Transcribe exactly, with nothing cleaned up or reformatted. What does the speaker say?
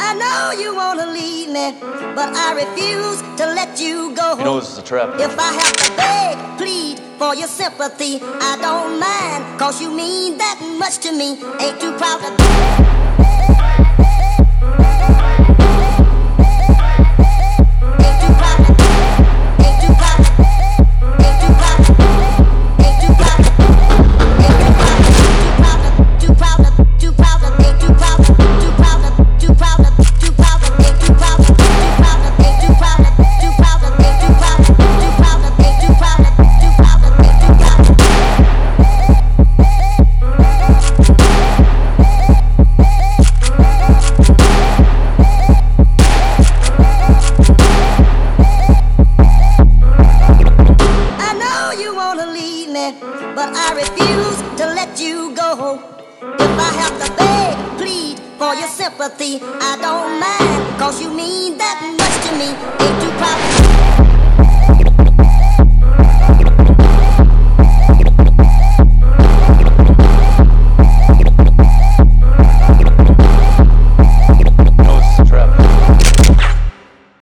I know you wanna leave me, but I refuse to let you go. You know this is a trap. If I have to beg, plead for your sympathy, I don't mind, cause you mean that much to me. Ain't too proud to but I refuse to let you go. If I have to beg, plead for your sympathy, I don't mind, cause you mean that much to me.